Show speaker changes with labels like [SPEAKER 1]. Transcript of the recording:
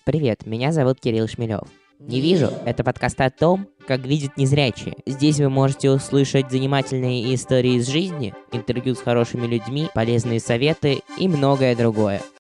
[SPEAKER 1] Привет, меня зовут Кирилл Шмелев. «Не вижу» — это подкаст о том, как видят незрячие. Здесь вы можете услышать занимательные истории из жизни, интервью с хорошими людьми, полезные советы и многое другое.